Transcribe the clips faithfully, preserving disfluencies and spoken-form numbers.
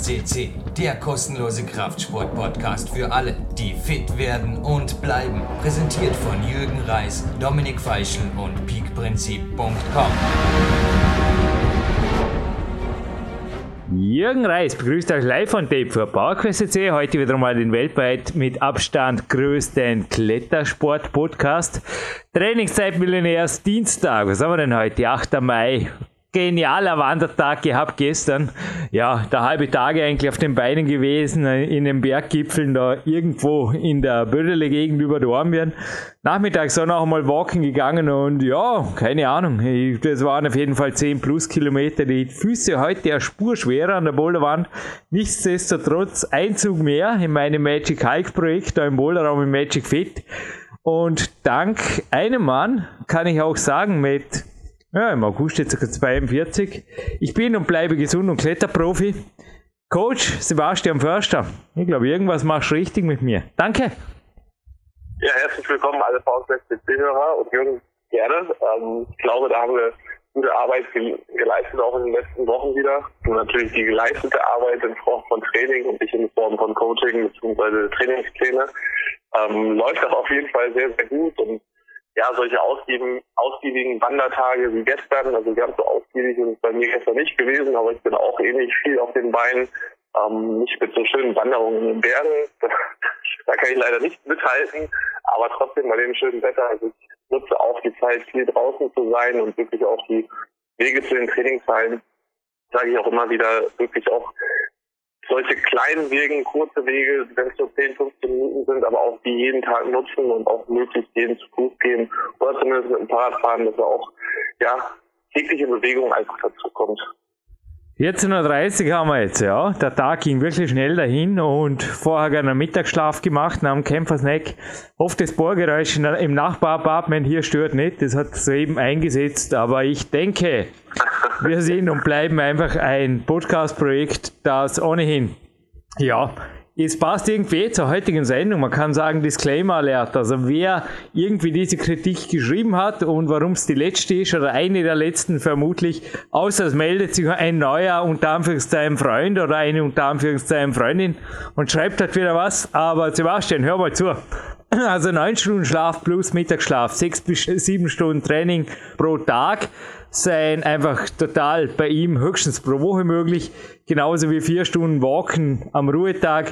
C C, der kostenlose Kraftsport-Podcast für alle, die fit werden und bleiben. Präsentiert von Jürgen Reis, Dominik Feischl und peak prinzip punkt com. Jürgen Reis begrüßt euch live on tape für PowerQuest C C. Heute wieder mal den weltweit mit Abstand größten Klettersport-Podcast. Trainingszeit Millionärs Dienstag. Was haben wir denn heute? achter Mai. Genialer Wandertag gehabt gestern. Ja, der halbe Tag eigentlich auf den Beinen gewesen, in den Berggipfeln da irgendwo in der Bödele Gegend über Dornbirn. Nachmittags so noch einmal walken gegangen und ja, keine Ahnung, das waren auf jeden Fall zehn plus Kilometer. Die Füße heute eine Spur schwerer an der Boulderwand. Nichtsdestotrotz ein Zug mehr in meinem Magic Hike Projekt, da im Boulderraum im Magic Fit. Und dank einem Mann kann ich auch sagen, mit ja, im August jetzt zweiundvierzig. Ich bin und bleibe gesund und Kletterprofi. Coach Sebastian Förster. Ich glaube, irgendwas machst du richtig mit mir. Danke. Ja, herzlich willkommen alle PowerQuest C C-Hörer und Jürgen, gerne. Ähm, ich glaube, da haben wir gute Arbeit geleistet, auch in den letzten Wochen wieder. Und natürlich die geleistete Arbeit in Form von Training und nicht in Form von Coaching bzw. Trainingspläne. Ähm, läuft das auf jeden Fall sehr, sehr gut und ja, solche ausgiebigen, ausgiebigen Wandertage wie gestern, also ganz so ausgiebig ist es bei mir gestern nicht gewesen, aber ich bin auch ähnlich viel auf den Beinen, ähm, nicht mit so schönen Wanderungen in den Bergen, da kann ich leider nicht mithalten, aber trotzdem bei dem schönen Wetter, also ich nutze auch die Zeit, viel draußen zu sein und wirklich auch die Wege zu den Trainingshallen, sage ich auch immer wieder, wirklich auch solche kleinen Wege, kurze Wege, wenn es so zehn, fünfzehn Minuten sind, aber auch die jeden Tag nutzen und auch möglichst jeden zu Fuß gehen oder zumindest mit dem Fahrrad fahren, dass er auch ja tägliche Bewegung einfach dazu kommt. vierzehn Uhr dreißig haben wir jetzt, ja. Der Tag ging wirklich schnell dahin und vorher einen Mittagsschlaf gemacht nach dem Kämpfersnack. Hoffe, das Bohrgeräusch im Nachbarapartment hier stört nicht. Das hat soeben eingesetzt, aber ich denke, wir sind und bleiben einfach ein Podcast-Projekt, das ohnehin, ja, es passt irgendwie zur heutigen Sendung. Man kann sagen, Disclaimer Alert. Also wer irgendwie diese Kritik geschrieben hat und warum es die letzte ist oder eine der letzten vermutlich, außer es meldet sich ein neuer unter Anführungszeichen Freund oder eine unter Anführungszeichen Freundin und schreibt halt wieder was. Aber Sebastian, hör mal zu. Also neun Stunden Schlaf plus Mittagsschlaf, sechs bis sieben Stunden Training pro Tag seien einfach total bei ihm höchstens pro Woche möglich, genauso wie vier Stunden Walken am Ruhetag.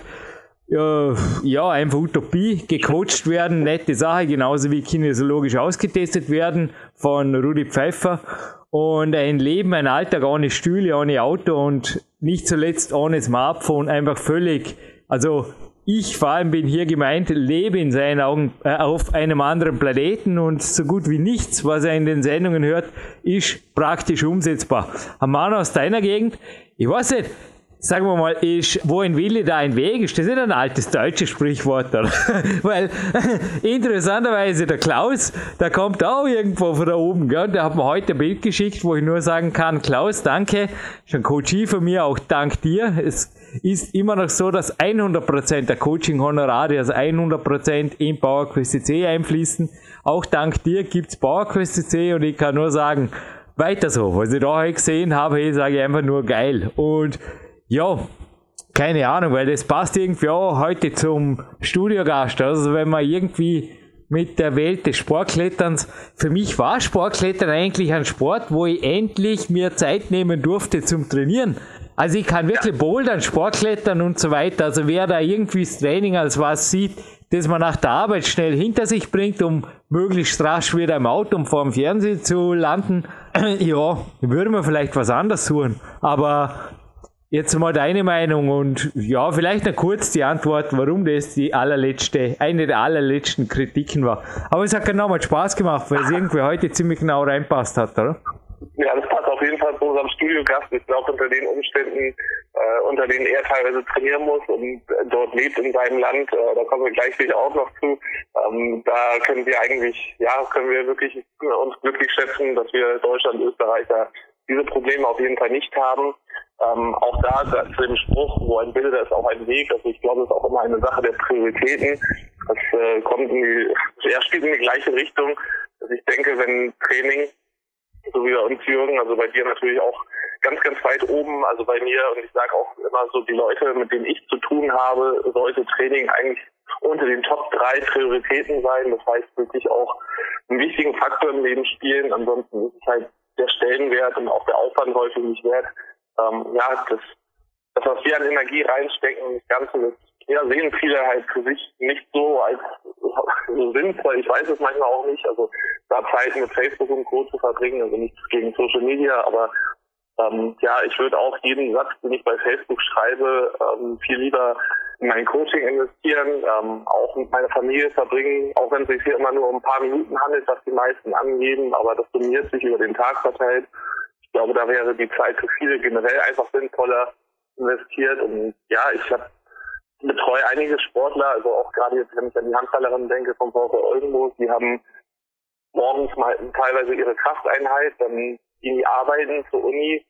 Äh, ja, einfach Utopie, gecoacht werden, nette Sache, genauso wie kinesiologisch ausgetestet werden von Rudi Pfeiffer und ein Leben, ein Alltag ohne Stühle, ohne Auto und nicht zuletzt ohne Smartphone, einfach völlig, also ich vor allem bin hier gemeint, lebe in seinen Augen äh, auf einem anderen Planeten und so gut wie nichts, was er in den Sendungen hört, ist praktisch umsetzbar. Ein Mann aus deiner Gegend, ich weiß nicht, sagen wir mal, ist, wo ein Wille, da ein Weg, ist das nicht ein altes deutsches Sprichwort, oder? Weil, interessanterweise, der Klaus, der kommt auch irgendwo von da oben, gell? Der hat mir heute ein Bild geschickt, wo ich nur sagen kann, Klaus, danke, ist ein Coachie von mir, auch dank dir. Es ist immer noch so, dass hundert Prozent der Coaching-Honorare, also hundert Prozent in PowerQuest C C einfließen. Auch dank dir gibt's PowerQuest C C und ich kann nur sagen, weiter so. Was ich da heute gesehen habe, sage ich einfach nur geil. Und ja, keine Ahnung, weil das passt irgendwie auch heute zum Studiogast. Also wenn man irgendwie mit der Welt des Sportkletterns, für mich war Sportklettern eigentlich ein Sport, wo ich endlich mir Zeit nehmen durfte zum Trainieren. Also ich kann wirklich bouldern, Sportklettern und so weiter. Also wer da irgendwie das Training als was sieht, das man nach der Arbeit schnell hinter sich bringt, um möglichst rasch wieder im Auto und vor dem Fernsehen zu landen, ja, würde man vielleicht was anderes suchen. Aber jetzt mal deine Meinung und ja, vielleicht noch kurz die Antwort, warum das die allerletzte, eine der allerletzten Kritiken war. Aber es hat genau mal Spaß gemacht, weil es irgendwie heute ziemlich genau reinpasst hat, oder? Ja, das passt auf jeden Fall zu unserem Studiogast. Ich glaube, unter den Umständen, äh, unter denen er teilweise trainieren muss und dort lebt in seinem Land, äh, da kommen wir gleich sicher auch noch zu. Ähm, da können wir eigentlich, ja, können wir wirklich uns glücklich schätzen, dass wir Deutschland, Österreicher diese Probleme auf jeden Fall nicht haben. Ähm, auch da, da zu dem Spruch, wo ein Wille, da ist auch ein Weg. Also ich glaube, das ist auch immer eine Sache der Prioritäten. Das äh, kommt in die, ja, spielt in die gleiche Richtung. Also ich denke, wenn Training, so wie bei uns, Jürgen, also bei dir natürlich auch ganz, ganz weit oben, also bei mir, und ich sage auch immer so, die Leute, mit denen ich zu tun habe, sollte Training eigentlich unter den Top drei Prioritäten sein. Das heißt wirklich auch einen wichtigen Faktor im Leben spielen. Ansonsten ist es halt der Stellenwert und auch der Aufwand häufig nicht wert. Ähm, ja, das, das, was wir an Energie reinstecken, das Ganze, das ja, sehen viele halt für sich nicht so als so sinnvoll. Ich weiß es manchmal auch nicht. Also da Zeit mit Facebook und Co. zu verbringen, also nichts gegen Social Media, aber ähm, ja, ich würde auch jeden Satz, den ich bei Facebook schreibe, ähm, viel lieber in mein Coaching investieren, ähm, auch mit meiner Familie verbringen, auch wenn es sich hier immer nur um ein paar Minuten handelt, was die meisten angeben, aber das summiert sich über den Tag verteilt. Ich glaube, da wäre die Zeit für viele generell einfach sinnvoller investiert. Und ja, ich habe betreue einige Sportler, also auch gerade jetzt, wenn ich an die Handballerin denke vom VfL Oldenburg, die haben morgens mal teilweise ihre Krafteinheit, dann gehen die arbeiten zur Uni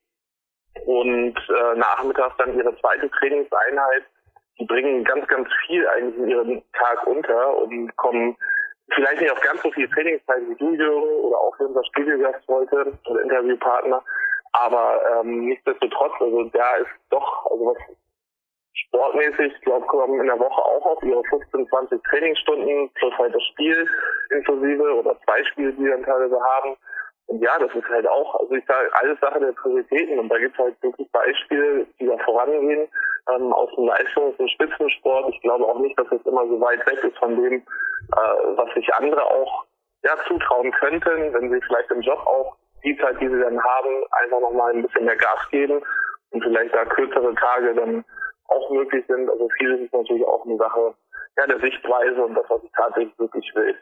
und äh, nachmittags dann ihre zweite Trainingseinheit. Die bringen ganz, ganz viel eigentlich in ihren Tag unter und kommen vielleicht nicht auf ganz so viel Trainingszeit wie du, Jürgen, oder auch unser Studiogast heute oder Interviewpartner, aber ähm, nichtsdestotrotz, also da ist doch, also was sportmäßig, ich glaube, kommen in der Woche auch auf ihre fünfzehn, zwanzig Trainingsstunden plus halt das Spiel inklusive oder zwei Spiele, die wir dann teilweise haben. Und ja, das ist halt auch, also ich sage, alles Sache der Prioritäten und da gibt es halt wirklich Beispiele, die da vorangehen, ähm, aus dem Leistungs- und Spitzensport. Ich glaube auch nicht, dass es immer so weit weg ist von dem, äh, was sich andere auch ja zutrauen könnten, wenn sie vielleicht im Job auch die Zeit, die sie dann haben, einfach nochmal ein bisschen mehr Gas geben und vielleicht da kürzere Tage dann auch möglich sind. Also vieles ist natürlich auch eine Sache ja, der Sichtweise und das, was ich tatsächlich wirklich will.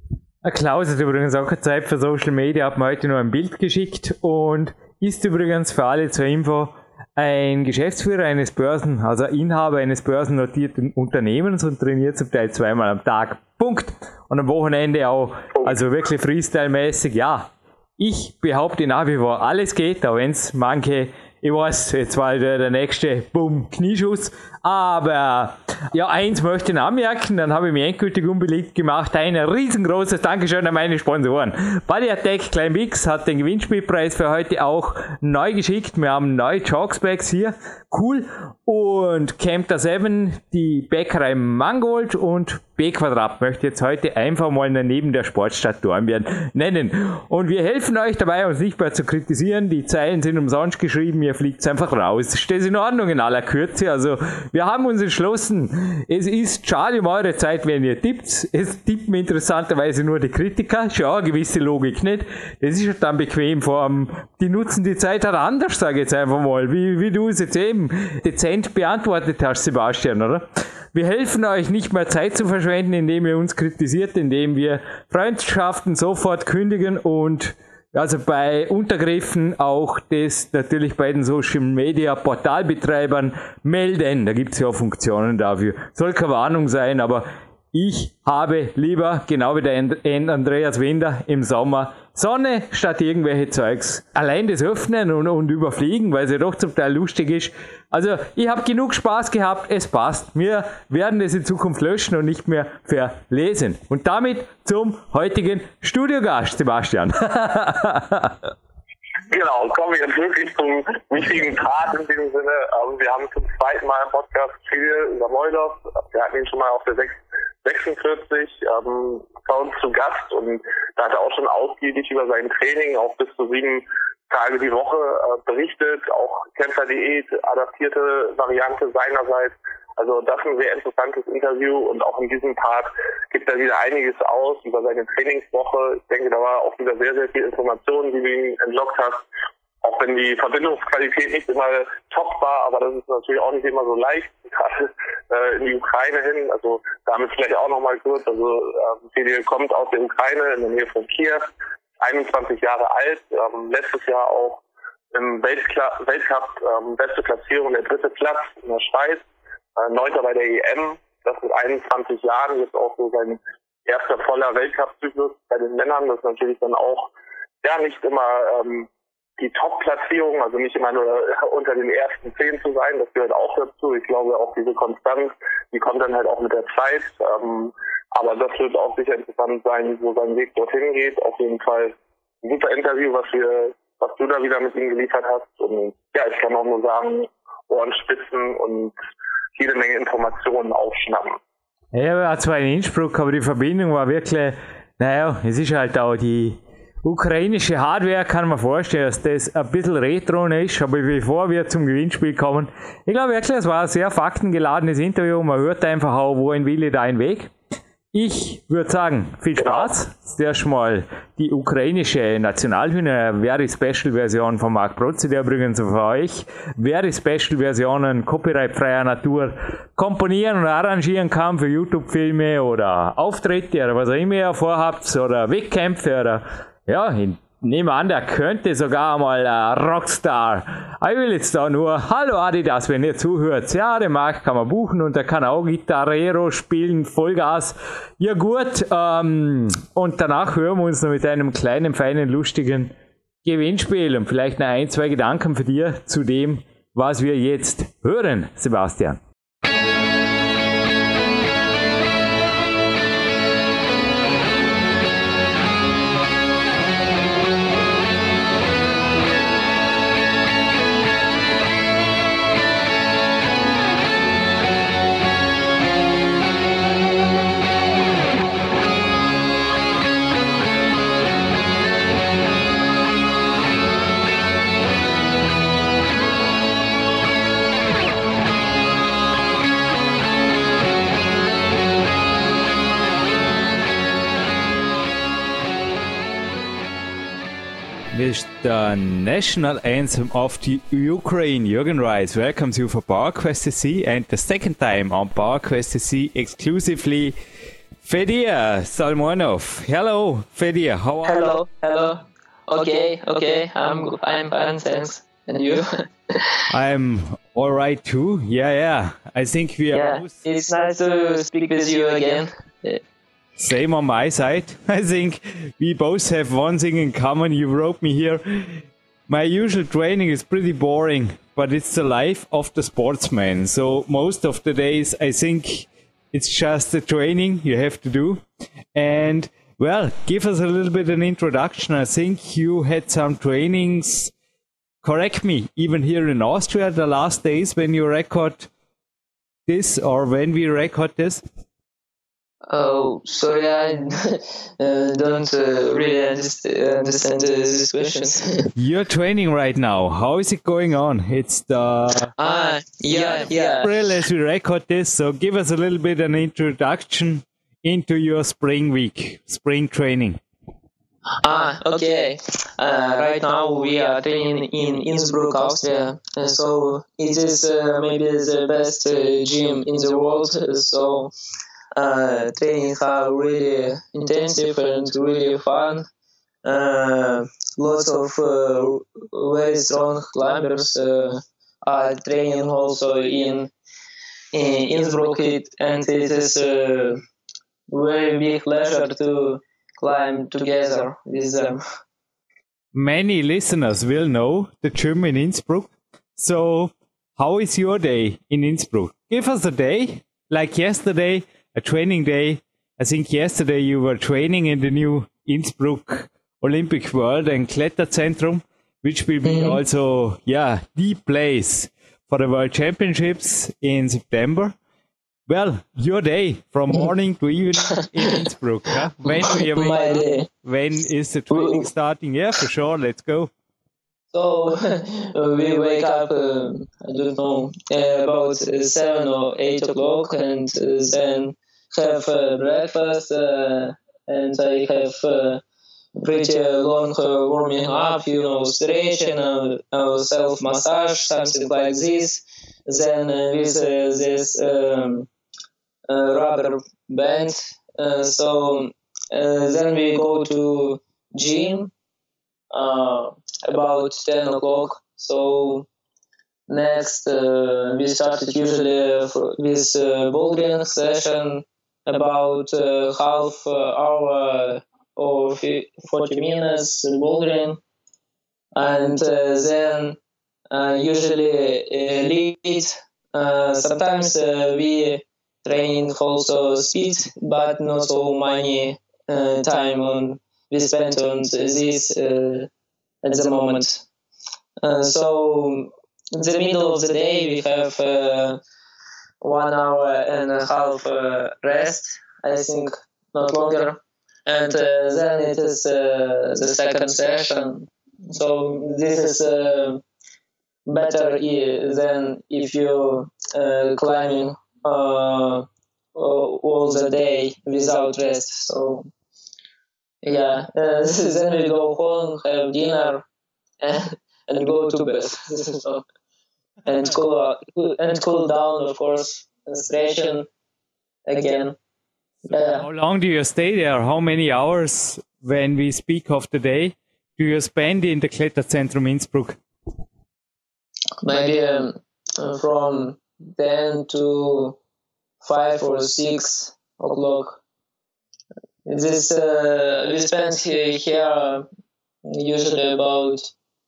Klaus hat übrigens auch keine Zeit für Social Media, hat mir heute nur ein Bild geschickt und ist übrigens für alle zur Info ein Geschäftsführer eines Börsen, also Inhaber eines börsennotierten Unternehmens und trainiert zum Teil zweimal am Tag. Punkt. Und am Wochenende auch, also wirklich Freestyle-mäßig, ja. Ich behaupte nach wie vor, alles geht, auch wenn es manche, ich weiß, jetzt war der, der nächste, bumm, Knieschuss. Aber ja, eins möchte ich anmerken, dann habe ich mich endgültig unbeliebt gemacht. Ein riesengroßes Dankeschön an meine Sponsoren. Bodyatech Klein Mix hat den Gewinnspielpreis für heute auch neu geschickt. Wir haben neue Chalksbags hier. Cool. Und Camper sieben, die Bäckerei Mangold und B-Quadrat möchte jetzt heute einfach mal neben der Sportstadt Dornbirn nennen. Und wir helfen euch dabei, uns nicht mehr zu kritisieren. Die Zeilen sind umsonst geschrieben, ihr fliegt einfach raus. Ist das in Ordnung in aller Kürze? Also wir haben uns entschlossen, es ist schade um eure Zeit, wenn ihr tippt. Es tippen interessanterweise nur die Kritiker. Schau, gewisse Logik nicht. Das ist halt dann bequem, vor allem, die nutzen die Zeit halt anders, sage ich jetzt einfach mal, wie, wie du es jetzt eben dezent beantwortet hast, Sebastian, oder? Wir helfen euch nicht mehr Zeit zu verschwenden, indem ihr uns kritisiert, indem wir Freundschaften sofort kündigen und also bei Untergriffen auch das natürlich bei den Social Media Portalbetreibern melden. Da gibt es ja auch Funktionen dafür. Soll keine Warnung sein, aber ich habe lieber, genau wie der Andreas Winder im Sommer, Sonne statt irgendwelche Zeugs. Allein das Öffnen und, und Überfliegen, weil es ja doch zum Teil lustig ist. Also ich habe genug Spaß gehabt, es passt. Wir werden es in Zukunft löschen und nicht mehr verlesen. Und damit zum heutigen Studiogast, Sebastian. Genau, kommen wir jetzt wirklich zum wichtigen Part in diesem Sinne. Also wir haben zum zweiten Mal im Podcast viel über Moldorf. Wir hatten ihn schon mal auf der sechsundvierzig ähm, bei uns zu Gast und da hat er auch schon ausgiebig über sein Training, auch bis zu sieben Tage die Woche äh, berichtet, auch Kämpferdiät, adaptierte Variante seinerseits. Also das ist ein sehr interessantes Interview und auch in diesem Part gibt er wieder einiges aus über seine Trainingswoche. Ich denke, da war auch wieder sehr, sehr viel Informationen, die du ihm entlockt hast. Auch wenn die Verbindungsqualität nicht immer top war, aber das ist natürlich auch nicht immer so leicht, gerade äh, in die Ukraine hin. Also damit vielleicht auch nochmal kurz. Also äh, Fedil kommt aus der Ukraine in der Nähe von Kiew, einundzwanzig Jahre alt, ähm, letztes Jahr auch im Weltkla- Weltcup ähm, beste Platzierung, der dritte Platz in der Schweiz. Neunter bei der E M, das mit einundzwanzig Jahren, jetzt auch so sein erster voller Weltcup-Zyklus bei den Männern. Das ist natürlich dann auch ja nicht immer ähm, die Top-Platzierung, also nicht immer nur unter den ersten zehn zu sein, das gehört auch dazu. Ich glaube auch diese Konstanz, die kommt dann halt auch mit der Zeit. Ähm, aber das wird auch sicher interessant sein, wo sein Weg dorthin geht. Auf jeden Fall ein super Interview, was wir was du da wieder mit ihm geliefert hast. Und ja, ich kann auch nur sagen, Ohren spitzen und jede Menge Informationen aufschnappen. Ja, ich war zwar in Innsbruck, aber die Verbindung war wirklich, naja, es ist halt auch die ukrainische Hardware, kann man vorstellen, dass das ein bisschen retro ist, aber bevor wir zum Gewinnspiel kommen, ich glaube wirklich, es war ein sehr faktengeladenes Interview, man hört einfach auch, wohin will ich dein Weg. Ich würde sagen, viel Spaß. Zuerst mal die ukrainische Nationalhymne, Very Special Version von Marc Protze, der übrigens für euch Very Special Versionen copyrightfreier Natur komponieren und arrangieren kann für YouTube-Filme oder Auftritte oder was auch immer ihr vorhabt oder Wettkämpfe oder ja, ich nehme an, der könnte sogar mal ein Rockstar. Ich will jetzt da nur, hallo Adidas, wenn ihr zuhört. Ja, den Marc kann man buchen und der kann auch Gitarrero spielen, Vollgas. Ja gut, ähm, und danach hören wir uns noch mit einem kleinen, feinen, lustigen Gewinnspiel und vielleicht noch ein, zwei Gedanken für dir zu dem, was wir jetzt hören, Sebastian. With the national anthem of the Ukraine, Jürgen Reis welcomes you for PowerQuest S C and the second time on PowerQuest S C exclusively Fedir Salmonov. Hello, Fedir, how are hello, you? Hello, hello. Okay, okay, I'm I'm fine, thanks. And you? I'm all right too. Yeah, yeah. I think we are. Yeah, both... it's nice to speak with you again. Yeah. Same on my side. I think we both have one thing in common. You wrote me here. My usual training is pretty boring, but it's the life of the sportsman. So most of the days, I think it's just the training you have to do. And well, give us a little bit an introduction. I think you had some trainings, correct me, even here in Austria the last days when you record this or when we record this. Oh, sorry, I uh, don't uh, really understand, understand uh, these questions. You're training right now. How is it going on? It's the ah, yeah, yeah. April as we record this. So give us a little bit an introduction into your spring week, spring training. Ah, okay. Uh, right now we are training in Innsbruck, Austria. Uh, so it is uh, maybe the best uh, gym in the world. So. Uh, training are really intensive and really fun. Uh, lots of uh, very strong climbers uh, are training also in, in Innsbruck, it, and it is a very big pleasure to climb together with them. Many listeners will know the gym in Innsbruck. So, how is your day in Innsbruck? Give us a day, like yesterday. A training day. I think yesterday you were training in the new Innsbruck Olympic World and Kletterzentrum, which will be mm-hmm. also, yeah, the place for the World Championships in September. Well, your day from morning to evening in Innsbruck. Huh? When, My day. when is the training starting? Yeah, for sure. Let's go. So uh, we wake up, uh, I don't know, uh, about seven or eight o'clock, and uh, then have uh, breakfast, uh, and I have uh, pretty long uh, warming up, you know, stretching, uh, uh, self massage, something like this. Then uh, with uh, this um, uh, rubber band. Uh, so uh, then we go to gym. Uh, about ten o'clock. So next uh, we started usually with uh, bouldering session about uh, half hour or forty minutes bouldering, and uh, then uh, usually uh, lead. Uh, sometimes uh, we train also speed, but not so many uh, time on we spent on this. Uh, at the moment. Uh, so in the middle of the day, we have uh, one hour and a half uh, rest, I think, not longer. And uh, then it is uh, the second session. So this is uh, better I- than if you uh, climbing uh, all the day without rest. So yeah, uh, then we go home, have dinner, and, and go to bed. So, and cool and cool down, of course, stretching again. Yeah. How long do you stay there? How many hours, when we speak of the day, do you spend in the Kletterzentrum Innsbruck? Maybe um, from ten to five or six o'clock. This uh, we spend he- here usually about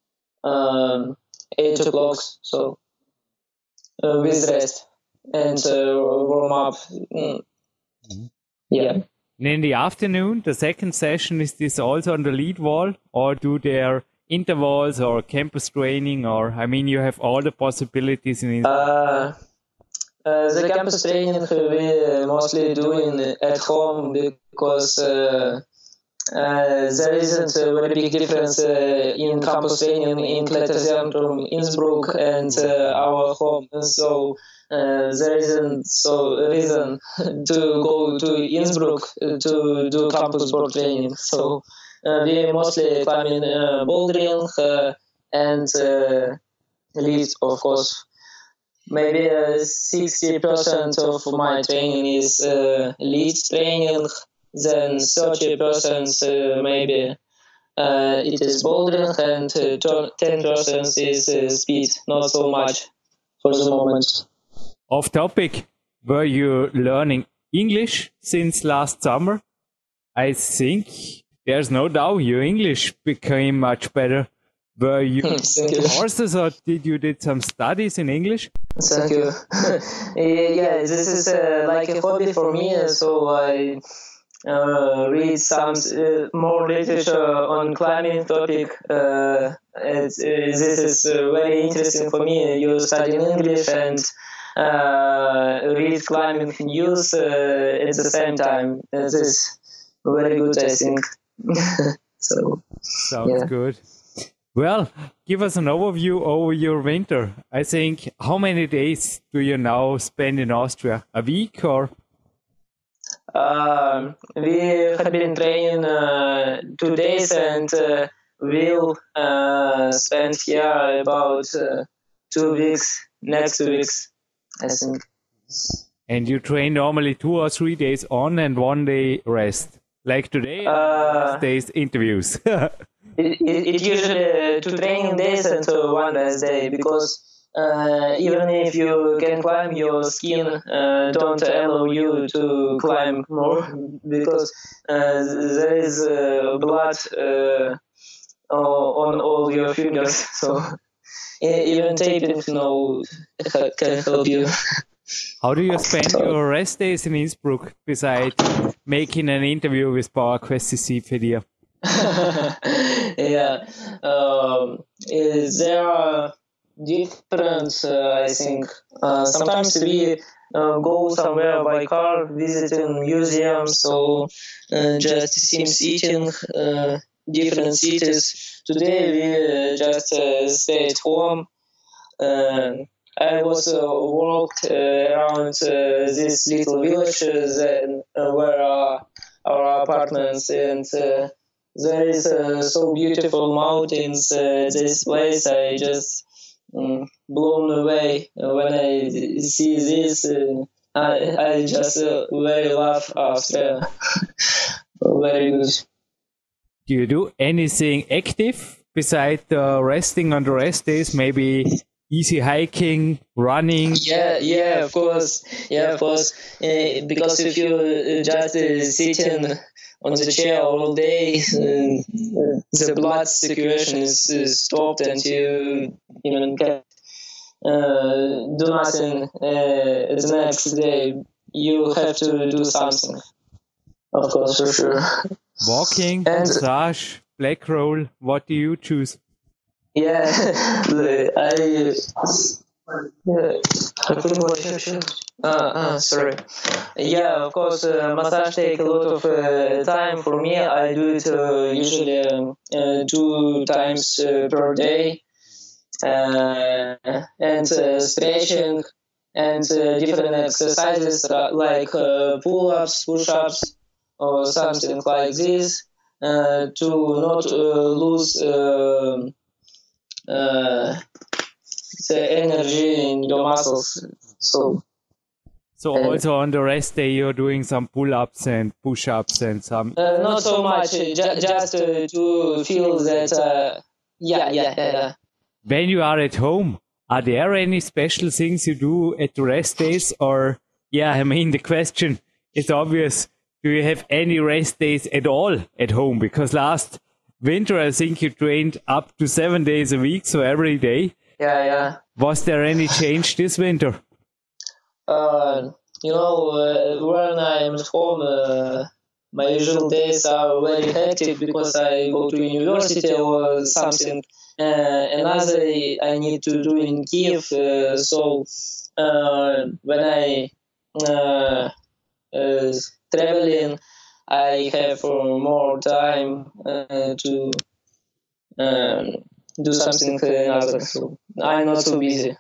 um, eight o'clock. So uh, with rest and uh, warm up. Mm. Yeah. And in the afternoon, the second session, is this also on the lead wall, or do there intervals or campus training, or I mean, you have all the possibilities in it. Uh, uh, the campus training we mostly doing at home because uh, uh, there isn't a very big difference uh, in campus training in Kletterzentrum Innsbruck and uh, our home. So uh, there isn't so reason to go to Innsbruck to do campus board training. So uh, we mostly climbing uh, bouldering uh, and uh, lead, of course. Maybe uh, sixty percent of my training is uh, lead training, then thirty percent uh, maybe uh, it is bouldering, and uh, ten percent is uh, speed, not so much for the moment. Off topic, were you learning English since last summer? I think there's no doubt your English became much better. Were you courses, or did you did some studies in English? Thank you. Yeah, this is uh, like a hobby for me, so I uh, read some uh, more literature on climbing topic. Uh, it's, uh, this is uh, very interesting for me. You study in English and uh, read climbing news uh, at the same time. This is very good, I think. So sounds yeah. good. Well, give us an overview over your winter. I think, how many days do you now spend in Austria? A week or? Uh, we have been training uh, two days and uh, we'll uh, spend here about uh, two weeks, next two weeks, I think. And you train normally two or three days on and one day rest? Like today, Uh, days interviews. It, it, it usually uh, two training days and uh, one rest day, because uh, even if you can climb, your skin uh, don't allow you to climb more, because uh, there is uh, blood uh, on all your fingers. So even taping no can help you. How do you spend your rest days in Innsbruck besides making an interview with PowerQuest C C Fedia? Yeah, um, is there are different, uh, I think. Uh, sometimes we uh, go somewhere by car, visiting museums, so uh, just seems eating uh, different cities. Today we uh, just uh, stay at home. Uh, I was uh, walked uh, around uh, this little village uh, that, uh, where are our apartments, and uh, there is uh, so beautiful mountains. Uh, this place, I just um, blown away when I see this. Uh, I I just uh, very love Austria. Very good. Do you do anything active besides uh, resting on the rest days? Maybe easy hiking, running? Yeah, yeah, of course. Yeah, of course. Uh, because if you uh, just uh, sitting on the chair all day, uh, the blood circulation is uh, stopped, and you even can uh, do nothing uh, the next day. You have to do something. Of course, for sure. Walking, And- massage, black roll. What do you choose? Yeah, I. Yeah, uh, uh, sorry. Yeah, of course, uh, massage take a lot of uh, time for me. I do it uh, usually um, uh, two times uh, per day, uh, and uh, stretching and uh, different exercises like uh, pull-ups, push-ups, or something like this uh, to not uh, lose uh, uh, the energy in your muscles. So, so uh, also on the rest day you're doing some pull-ups and push-ups and some. Uh, not so much, ju- just uh, to feel that. Uh, yeah, yeah, yeah. When you are at home, are there any special things you do at the rest days? Or, yeah, I mean, the question is obvious. Do you have any rest days at all at home? Because last winter, I think you trained up to seven days a week, so every day. Yeah, yeah. Was there any change this winter? Uh, you know, uh, when I'm at home, uh, my usual days are very hectic because I go to university or something. Uh, another I need to do in Kiev. Uh, so uh, when I uh, uh, traveling, I have uh, more time uh, to um, do something another. So I'm not so busy.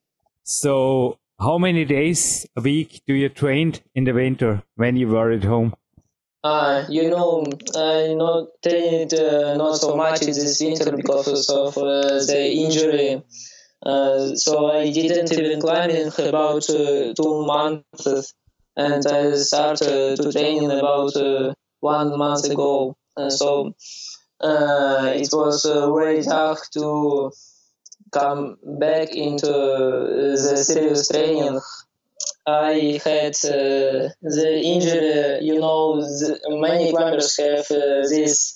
So how many days a week do you train in the winter when you were at home? Uh, you know, I not trained uh, not so much in this winter because of uh, the injury. Uh, so I didn't even climbing about uh, two months, and I started to training about uh, one month ago. Uh, so uh, it was uh, very tough to come back into the serious training. I had uh, the injury, you know, the, many climbers have uh, this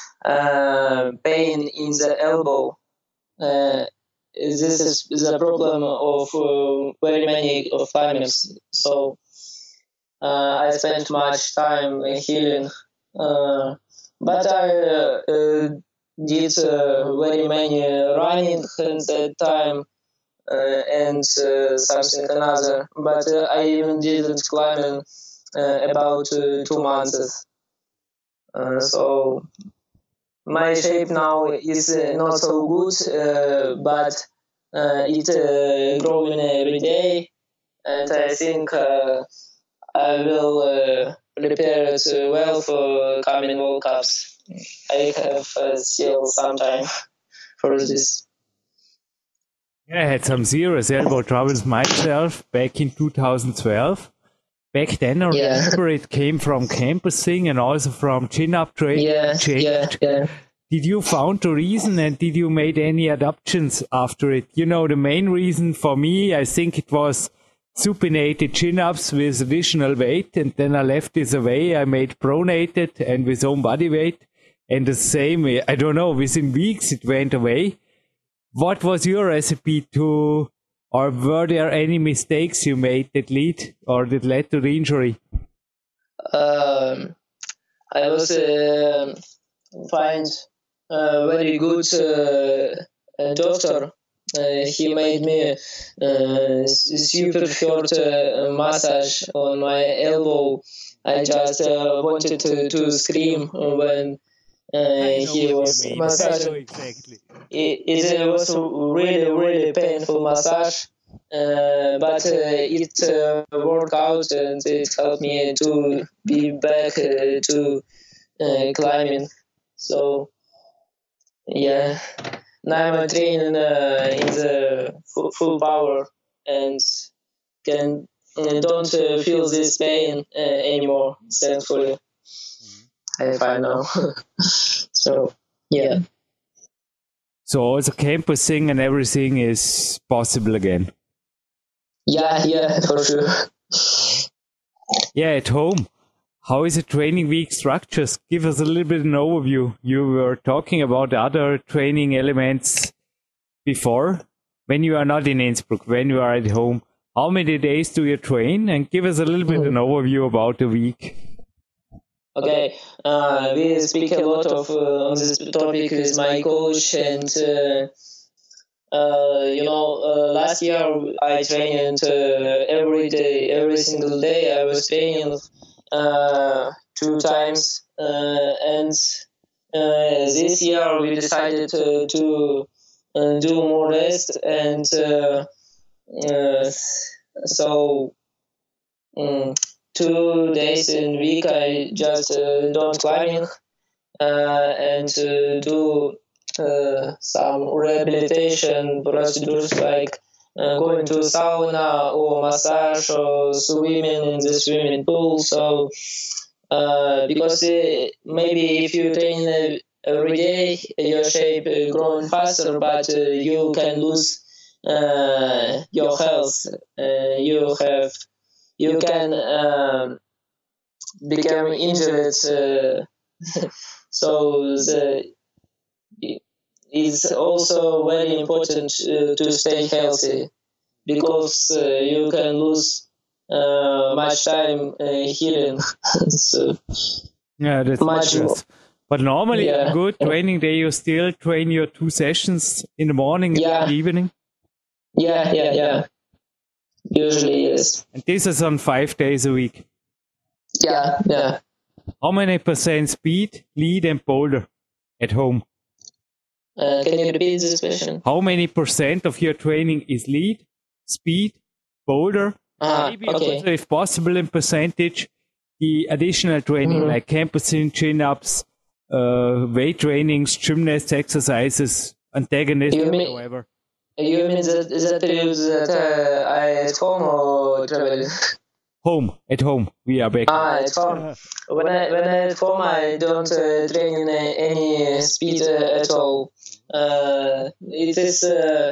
uh, pain in the elbow. Uh, this is the problem of uh, very many of climbers. So uh, I spent much time healing, uh, but I uh, uh, did uh, very many running at that time. Uh, and uh, something another, but uh, I even didn't climb in uh, about uh, two months. Uh, so my shape now is uh, not so good, uh, but uh, it's uh, growing every day, and I think uh, I will uh, prepare it uh, well for coming World Cups. I have uh, still some time for this. Yeah, I had some serious elbow troubles myself back in two thousand twelve. Back then, I Yeah. remember it came from campusing and also from chin-up training. Yeah, yeah, yeah. Did you found the reason and did you made any adaptations after it? You know, the main reason for me, I think it was supinated chin-ups with additional weight, and then I left this away. I made pronated and with own body weight. And the same, I don't know, within weeks it went away. What was your recipe to, or were there any mistakes you made that lead or that led to the injury? Um, I was uh, find a very good uh, doctor. Uh, he made me uh, super short uh, massage on my elbow. I just uh, wanted to, to scream when uh, he was massaging. Exactly. It, it was a really, really painful massage, uh, but uh, it uh, worked out and it helped me to be back uh, to uh, climbing. So, yeah, now I'm training uh, in the full, full power and can uh, don't uh, feel this pain uh, anymore, thankfully. I find now. So, yeah. So also campusing and everything is possible again. Yeah, yeah, for sure. Yeah, at home. How is a training week structured? Give us a little bit of an overview. You were talking about other training elements before. When you are not in Innsbruck, when you are at home, how many days do you train? And give us a little bit of an overview about the week. Okay, uh, we speak a lot of uh, on this topic with my coach, and uh, uh, you know, uh, last year I trained uh, every day, every single day. I was training uh, two times, uh, and uh, this year we decided to, to uh, do more rest, and uh, uh, so. Um, Two days in week I just uh, don't climbing uh, and uh, do uh, some rehabilitation procedures like uh, going to sauna or massage or swimming in the swimming pool. So uh, because uh, maybe if you train uh, every day, your shape uh, growing faster, but uh, you can lose uh, your health. Uh, you have You can um, become injured, uh, so the, it's also very important uh, to stay healthy, because uh, you can lose uh, much time uh, healing. So yeah, that's much more. But normally, Yeah. a good training day, you still train your two sessions in the morning and Yeah. in the evening. Yeah, yeah, yeah. Usually, yes. And this is on five days a week. Yeah, yeah. How many percent speed, lead, and boulder at home? Uh, can you repeat this question? How many percent of your training is lead, speed, boulder? Ah, Maybe okay. also, if possible, in percentage, the additional training Mhm. like campusing, chin-ups, uh, weight trainings, gymnast exercises, antagonist, You mean- whatever. You mean that that period that uh, I at home or traveling? Home, at home, we are back. Ah, at home. When I when I at home, I don't uh, train in a, any speed uh, at all. Uh, it is uh,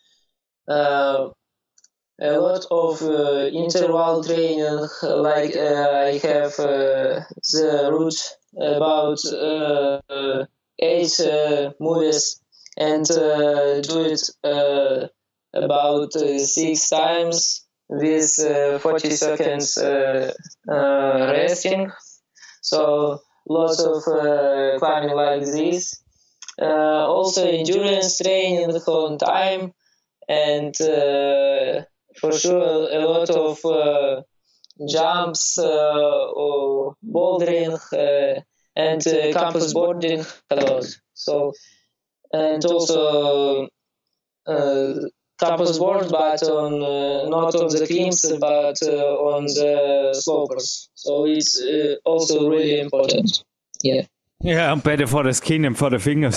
uh, a lot of uh, interval training. Like uh, I have uh, the route about uh, uh, eight uh, movies, and uh, do it uh, about uh, six times with uh, forty seconds uh, uh, resting. So lots of uh, climbing like this. Uh, also endurance training on time, and uh, for sure a lot of uh, jumps uh, or bouldering uh, and uh, campus boarding a lot. So and also uh, campus board, but on uh, not on the climbs, but uh, on the slopers. So it's uh, also really important. Yeah. Yeah, I'm better for the skin and for the fingers.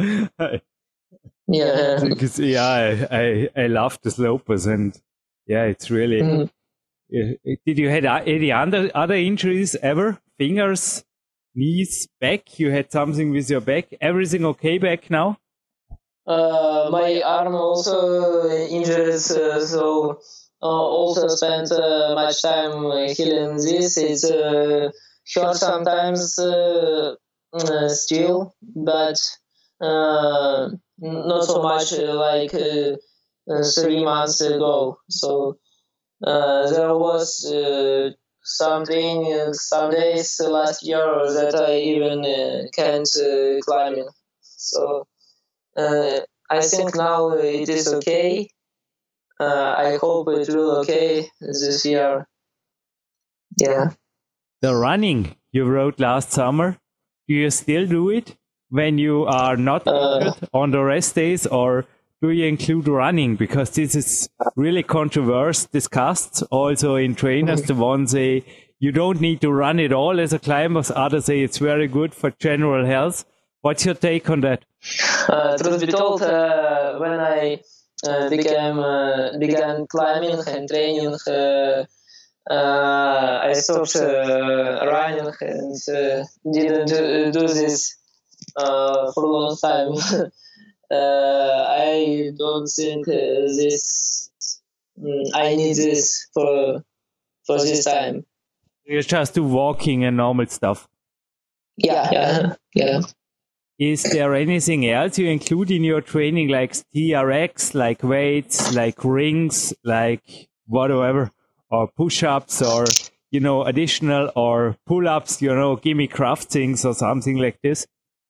Yeah. Because, yeah, I, I, I love the slopers, and yeah, it's really. Mhm. Uh, Did you had uh, any other other injuries ever? Fingers, knees, back? You had something with your back? Everything okay back now? Uh, my arm also injured, uh, so uh, also spent uh, much time uh, healing this. It uh, hurt sometimes uh, uh, still, but uh, not so much uh, like uh, uh, three months ago. So uh, there was uh, something, uh, some days last year that I even uh, can't uh, climb. So. Uh, I think now it is okay. Uh, I hope it will okay this year. Yeah. The running you wrote last summer, do you still do it when you are not Uh, injured on the rest days, or do you include running? Because this is really controversial, discussed also in trainers. The ones say you don't need to run it all as a climber. Others say it's very good for general health. What's your take on that? Uh, truth be told, uh, when I uh, became uh, began climbing and training, uh, uh, I stopped uh, running and uh, didn't do, do this uh, for a long time. uh, I don't think uh, this. mm, I need this for for this time. You just do walking and normal stuff. Yeah, yeah, yeah. Is there anything else you include in your training, like T R X, like weights, like rings, like whatever, or push-ups, or you know, additional or pull-ups, you know, gimme craft things or something like this?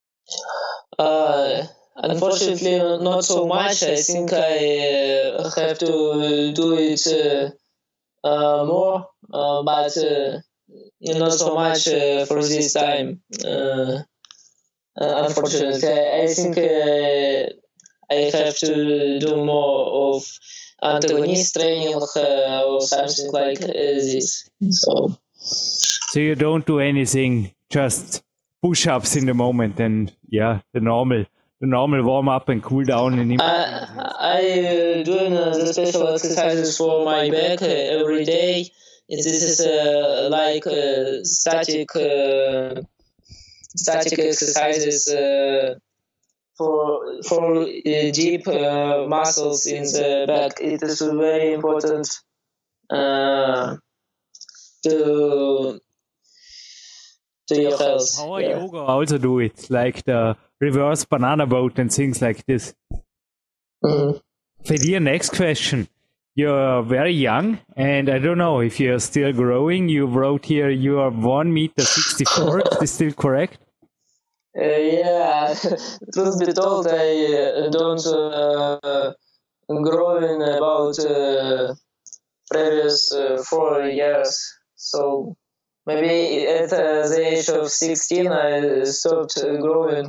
Uh, unfortunately, not so much. I think I uh, have to do it uh, uh, more, uh, but uh, not so much uh, for this time. Uh, uh, unfortunately, I think uh, I have to do more of antagonist training uh, or something like uh, this. So, so you don't do anything, just push-ups in the moment, and yeah, the normal, the normal warm-up and cool down. And I I uh, doing uh, the special exercises for my back uh, every day. This is uh, like uh, static uh, static exercises. Uh, For for uh, deep uh, muscles in the back, it is very important uh, to to your health. Power yeah. yoga also do it, like the reverse banana boat and things like this. Mm-hmm. For your next question, you're very young, and I don't know if you're still growing. You wrote here you are one meter sixty-four. Is this still correct? Uh, yeah, truth be told, I uh, don't uh, grow in about uh, previous uh, four years. So maybe at uh, the age of sixteen, I stopped uh, growing.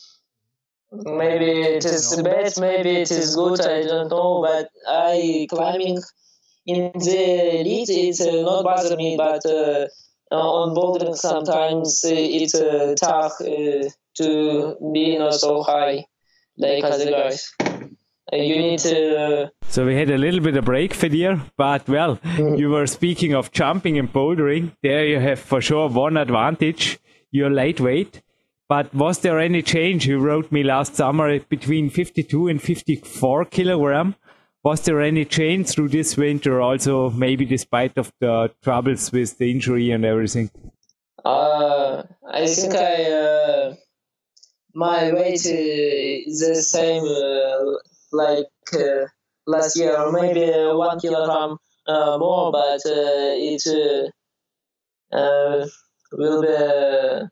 Maybe it is bad, maybe it is good, I don't know. But I climbing in the elite, it uh, not bother me, but. Uh, Uh, on bouldering, sometimes uh, it's uh, tough uh, to be not so high like other guys. Uh, you need to. Uh, so we had a little bit of break for there, but well, mm-hmm. you were speaking of jumping and bouldering. There you have for sure one advantage. You're lightweight. But was there any change? You wrote me last summer between fifty-two and fifty-four kilogram. Was there any change through this winter also, maybe despite of the troubles with the injury and everything? Uh, I think I, uh, my weight is the same uh, like uh, last year, or maybe one kilogram uh, more, but uh, it uh, uh, will be... Uh,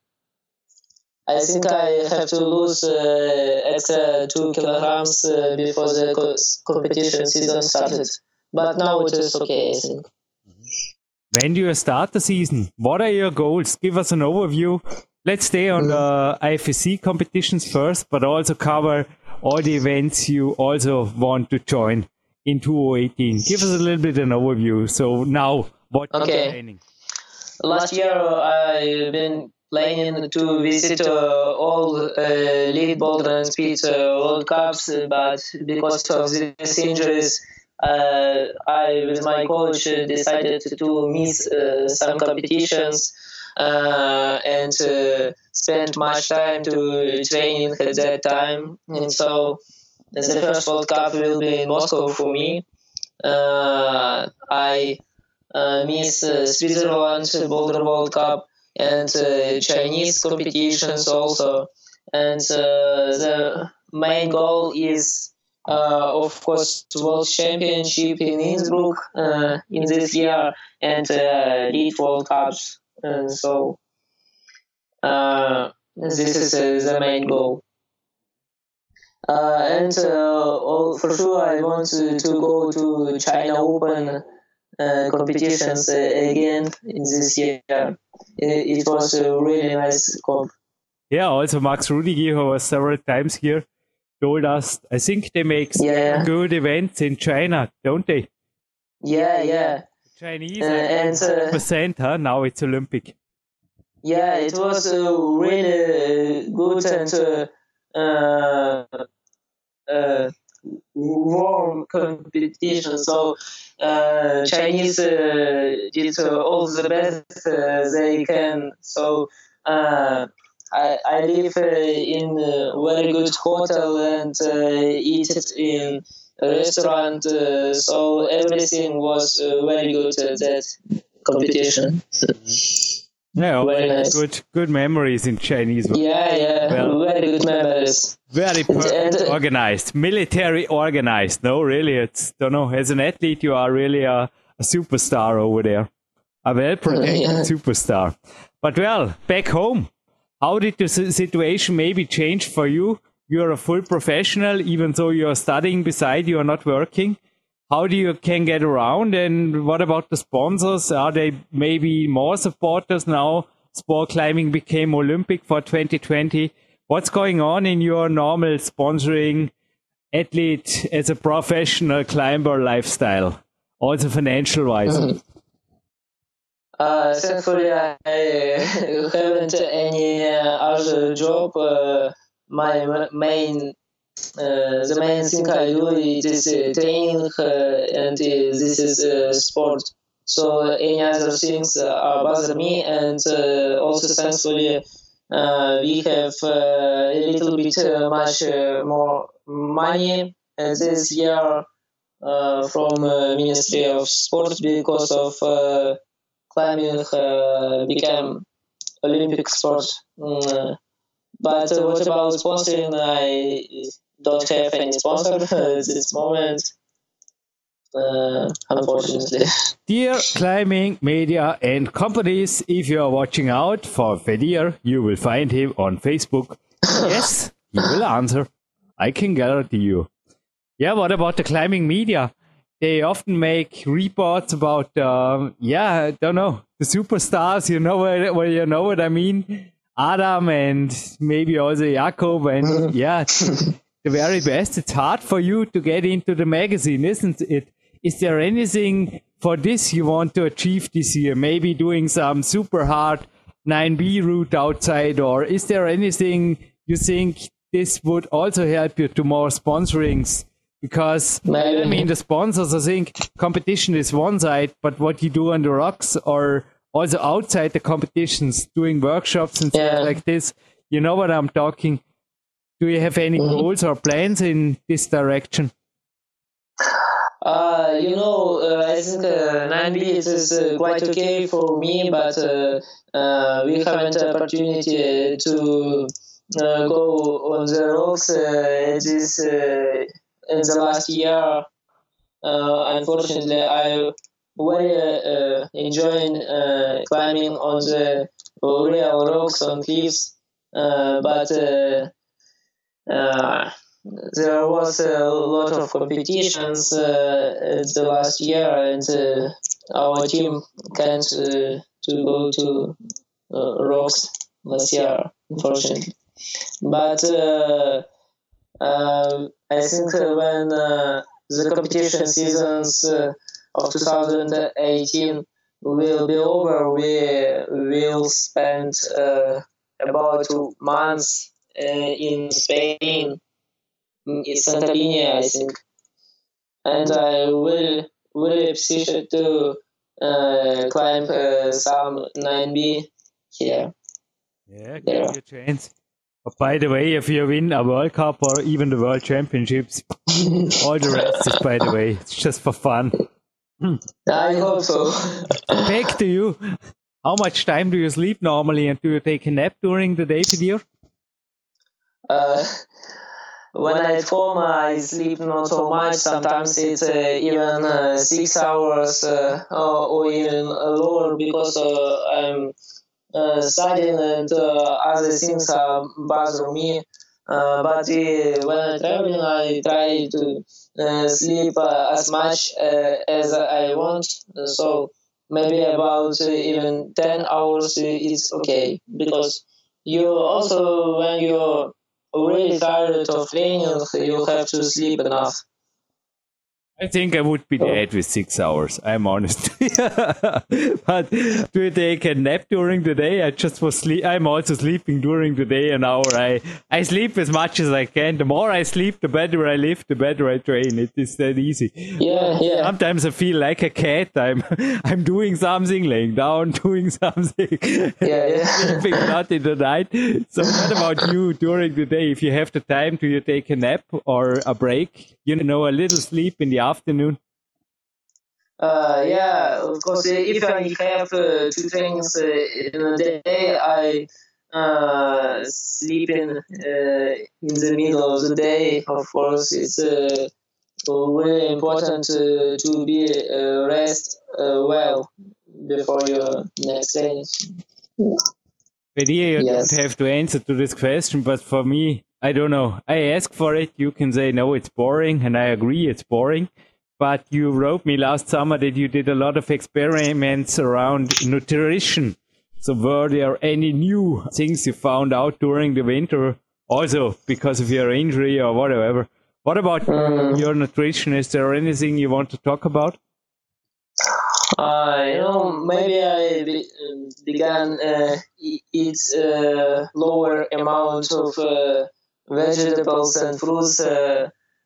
I think I have to lose uh, extra two kilograms uh, before the co- competition season started. But now it is okay, I think. When do you start the season? What are your goals? Give us an overview. Let's stay on mm-hmm. the I F S C competitions first, but also cover all the events you also want to join in two thousand eighteen. Give us a little bit an overview. So now, what are okay. you planning? Last year I've been planning to visit uh, all uh, lead boulder and speed uh, World Cups, but because of these injuries, uh, I, with my coach, uh, decided to miss uh, some competitions uh, and uh, spend much time to training at that time. And so the first World Cup will be in Moscow for me. Uh, I uh, miss uh, Switzerland Boulder World Cup and uh, Chinese competitions also. And uh, the main goal is, uh, of course, World Championship in Innsbruck uh, in this year and uh, Lead World Cups. And so uh, this is uh, the main goal. Uh, and uh, all, for sure, I want to, to go to China Open uh, competitions uh, again in this year. It, it was a really nice comp. Yeah, also Max Rudiger, who was several times here, told us, I think they make yeah. good events in China, don't they? Yeah, yeah. Chinese, uh, and uh, percent, huh? Now it's Olympic. Yeah, it was uh, really good and uh, uh, uh, warm competition. So uh, Chinese uh, did uh, all the best uh, they can. So uh, I, I live uh, in a very good hotel and uh, eat it in a restaurant. Uh, so everything was uh, very good at that competition. Yeah, very nice. good, good memories in Chinese. Yeah, yeah, well, very good memories. Very per- and, uh, organized, military organized. No, really, it's don't know. As an athlete, you are really a, a superstar over there. A well-protected Yeah. superstar. But well, back home, how did the si- situation maybe change for you? You're a full professional, even though you're studying beside, you're not working. How do you can get around? And what about the sponsors? Are they maybe more supporters now? Sport climbing became Olympic for twenty twenty. What's going on in your normal sponsoring athlete as a professional climber lifestyle, also financial wise? Uh, thankfully, I haven't any uh, other job. Uh, my ma- main, uh, the main thing I do is uh, training, uh, and uh, this is uh, sport. So uh, any other things uh, bother me, and uh, also thankfully uh, we have uh, a little bit uh, much uh, more money uh, this year uh, from uh, Ministry of Sport because of. Uh, climbing uh, became Olympic sport. Mm, but uh, what about sponsoring? I don't have any sponsor at this moment, uh, unfortunately. Dear climbing media and companies, if you are watching out for Fedir, you will find him on Facebook. Yes, he will answer. I can guarantee you. Yeah, what about the climbing media? They often make reports about, um, yeah, I don't know, the superstars. You know what, well, you know what I mean? Adam and maybe also Jakob and yeah, the very best. It's hard for you to get into the magazine, isn't it? Is there anything for this you want to achieve this year? Maybe doing some super hard nine B route outside, or is there anything you think this would also help you to more sponsorings? Because, I mean, the sponsors, I think competition is one side, but what you do on the rocks or also outside the competitions, doing workshops and Yeah. things like this, you know what I'm talking. Do you have any Mhm. goals or plans in this direction? Uh, you know, uh, I think uh, nine B it is uh, quite okay for me, but uh, uh, we haven't opportunity to uh, go on the rocks uh, this uh, in the last year. Uh, unfortunately, I very uh, enjoying uh, climbing on the real rocks on cliffs, uh, but. Uh, uh, there was a lot of competitions uh, the last year, and uh, our team can't uh, to go to uh, rocks last year, unfortunately. But uh, uh, I think uh, when uh, the competition seasons uh, of twenty eighteen will be over, we will spend uh, about two months uh, in Spain. It's Santorini, I think, and I will really appreciate to uh, climb uh, some nine B here. Yeah, give Yeah. you a chance. But by the way, if you win a World Cup or even the World Championships, all the rest is, by the way, it's just for fun. I hope so. Back to you. How much time do you sleep normally, and do you take a nap during the day, Fedir? uh, when I'm at home, I sleep not so much. Sometimes it's uh, even uh, six hours uh, or, or even lower because uh, I'm uh, studying and uh, other things uh, bother me. Uh, but uh, when I'm traveling, I try to uh, sleep uh, as much uh, as I want. So maybe about uh, even ten hours is okay, because you also, when you're really tired of training, you have to sleep enough. I think I would be dead with six hours, I'm honest. But do you take a nap during the day? I just was sleep. I'm also sleeping during the day an hour. I, I sleep as much as I can. The more I sleep, the better I live, the better I train. It is that easy. Yeah, yeah. Sometimes I feel like a cat. I'm I'm doing something, laying down, doing something. Yeah, yeah. Sleeping not in the night. So what about you during the day? If you have the time, do you take a nap or a break? You know, a little sleep in the afternoon? Uh, yeah, of course, if I have uh, two trainings uh, in a day, I uh, sleep in, uh, in the middle of the day. Of course, it's uh, really important uh, to be uh, rest uh, well before your next training. But here you Yes. don't have to answer to this question, but for me, I don't know. I ask for it. You can say, no, it's boring, and I agree it's boring. But you wrote me last summer that you did a lot of experiments around nutrition. So were there any new things you found out during the winter, also because of your injury or whatever? What about Mm. your nutrition? Is there anything you want to talk about? Uh, you know, maybe I be, um, began uh, e- eat uh, lower amount of uh, vegetables and fruits. Uh,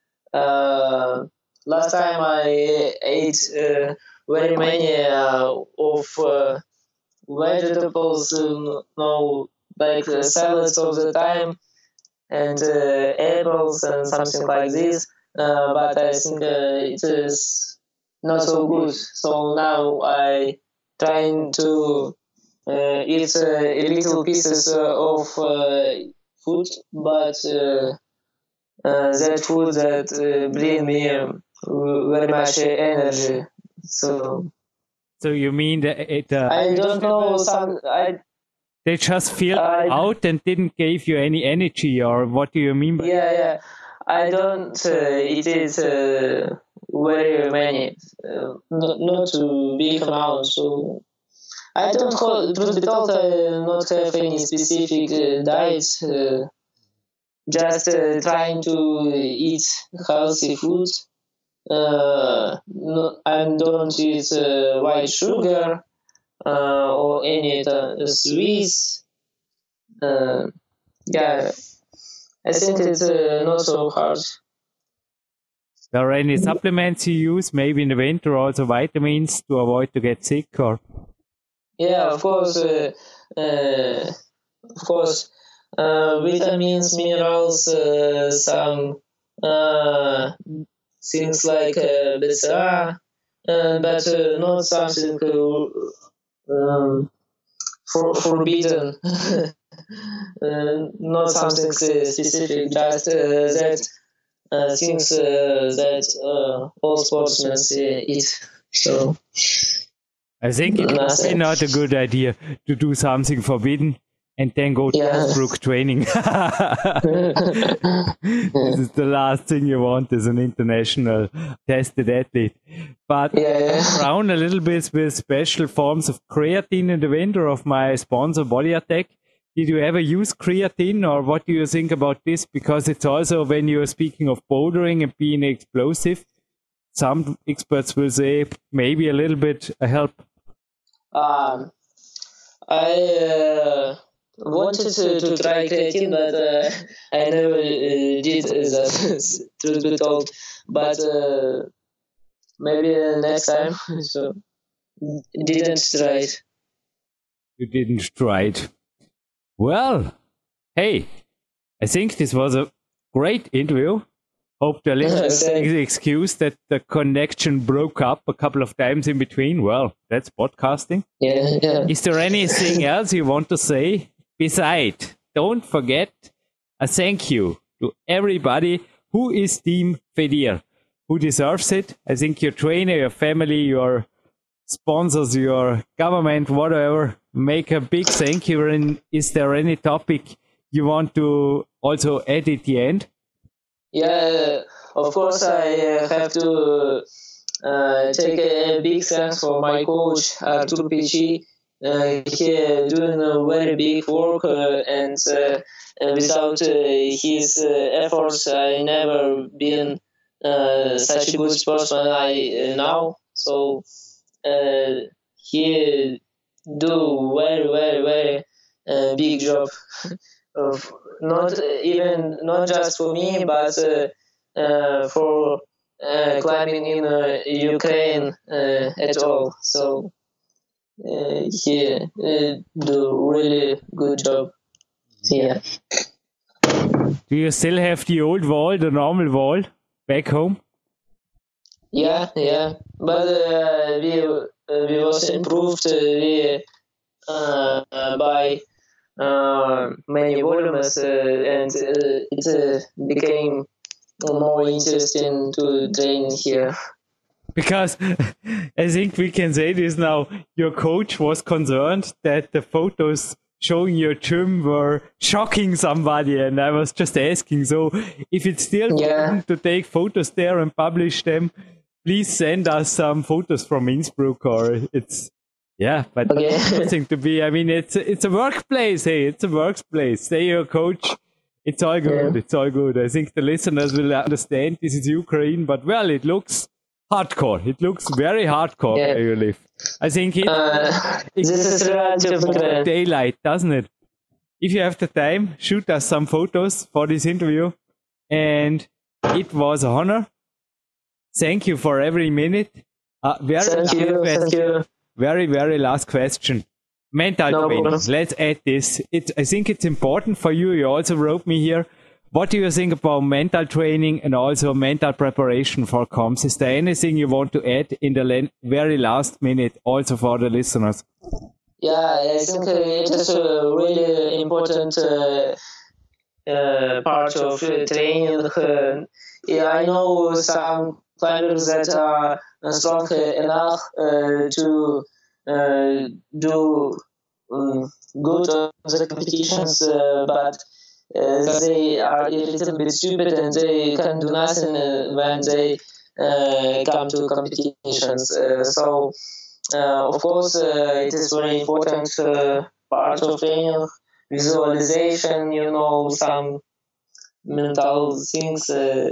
uh, last time I ate uh, very many uh, of uh, vegetables, um, no, like uh, salads all the time, and uh, apples and something like this. Uh, but I think uh, it is not so good. So now I trying to uh, eat uh, little pieces uh, of uh, food, but uh, uh, that food that uh, bring me um, very much energy. So So you mean that it, uh, I don't know some. I they just filled I- out and didn't give you any energy, or what do you mean by yeah yeah. I don't uh, eat it uh, very many, uh, not, not a big amount. So I don't hold, truth be told, I not have any specific uh, diet. Uh, just uh, trying to eat healthy food. Uh, no, I don't eat uh, white sugar uh, or any uh, sweets. Uh, yeah, I think it's uh, not so hard. Are there any supplements you use, maybe in the winter, also vitamins to avoid to get sick? Or Yeah, of course, uh, uh, of course, uh, vitamins, minerals, uh, some uh, things like uh, B C A, uh, but uh, not something uh, um, for, forbidden, uh, not something uh, specific, just uh, that uh, things uh, that uh, all sportsmen uh, eat. So. I think it's Nothing. not a good idea to do something forbidden and then go to Yeah. Innsbruck training. This is the last thing you want as an international tested athlete. But Yeah, yeah. around a little bit with special forms of creatine in the winter of my sponsor Body Attack. Did you ever use creatine, or what do you think about this? Because it's also, when you're speaking of bouldering and being explosive, some experts will say maybe a little bit a help. Um, I uh, wanted to, to try creatine, but uh, I never uh, did that, truth be told. But uh, maybe next time, so didn't try it. You didn't try it. Well, hey, I think this was a great interview. Hope the listeners Thanks. excuse that the connection broke up a couple of times in between. Well, that's podcasting. Yeah, yeah. Is there anything else you want to say? Besides, don't forget a thank you to everybody who is Team Fedir, who deserves it. I think your trainer, your family, your sponsors, your government, whatever, make a big thank you. And is there any topic you want to also add at the end? Yeah, of course, I uh, have to uh, take a big thanks for my coach, Artur Pichi. Uh, he uh, doing a very big work, uh, and uh, without uh, his uh, efforts, I never been uh, such a good sportsman I uh, now. So uh, he do very, very, very uh, big job. Of not even not just for me, but uh, uh, for uh, climbing in uh, Ukraine uh, at all. So uh, he uh, do really good job. Yeah. Do you still have the old wall, the normal wall, back home? Yeah, yeah. But uh, we uh, we was improved. Uh, we uh, by. Uh, many volumes uh, and uh, it uh, became more interesting to train here. Because I think we can say this now, your coach was concerned that the photos showing your gym were shocking somebody, and I was just asking, so if it's still yeah. important to take photos there and publish them, please send us some photos from Innsbruck, or it's, yeah, but okay. it's nothing to be, I mean, it's, it's a workplace, hey, it's a workplace, say your coach, it's all good, yeah. it's all good. I think the listeners will understand this is Ukraine, but well, it looks hardcore, it looks very hardcore yeah. where you live. I think it, uh, it this is relative daylight, doesn't it? If you have the time, shoot us some photos for this interview. And it was an honor. Thank you for every minute. Uh, very thank you, question. thank you. Very, very last question. Mental no training. Problem. Let's add this. It, I think it's important for you. You also wrote me here. What do you think about mental training and also mental preparation for comms? Is there anything you want to add in the very last minute also for the listeners? Yeah, I think uh, it is a really important uh, uh, part of uh, training. Uh, yeah, I know some climbers that are strong enough uh, to uh, do um, good on the competitions, uh, but Uh, they are a little bit stupid and they can do nothing uh, when they uh, come to competitions. Uh, so, uh, of course, uh, it is very important uh, part of training, visualization, you know, some mental things. Uh,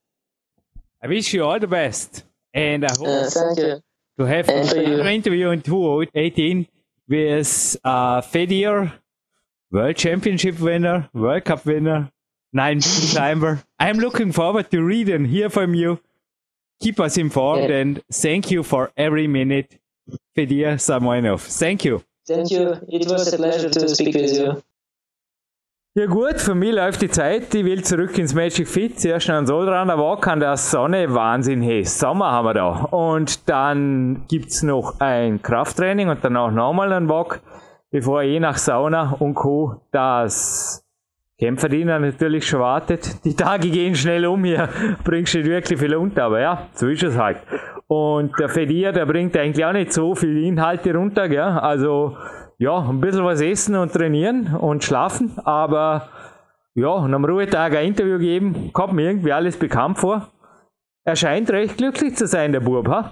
I wish you all the best. And I hope uh, thank you. to have an interview in two thousand eighteen with uh, Fedir, World Championship winner, World Cup winner, nine climber. I'm looking forward to read and hear from you. Keep us informed yeah. and thank you for every minute, Fedir Samoinov. Thank you. Thank you. It was a pleasure to speak with you. Ja gut, für mich läuft die Zeit. Ich will zurück ins Magic Fit. Zuerst noch ein Solraner Walk an der Sonne. Wahnsinn, hey, Sommer haben wir da. Und dann gibt's noch ein Krafttraining und danach nochmal ein Walk, bevor je nach Sauna und Co. das Kämpferdiener natürlich schon wartet. Die Tage gehen schnell um hier, bringst nicht wirklich viel unter, aber ja, so ist es halt. Und der Fedir, der bringt eigentlich auch nicht so viele Inhalte runter, gell? Also ja, ein bisschen was essen und trainieren und schlafen, aber ja, und am Ruhetag ein Interview geben, kommt mir irgendwie alles bekannt vor. Er scheint recht glücklich zu sein, der Bub, ha?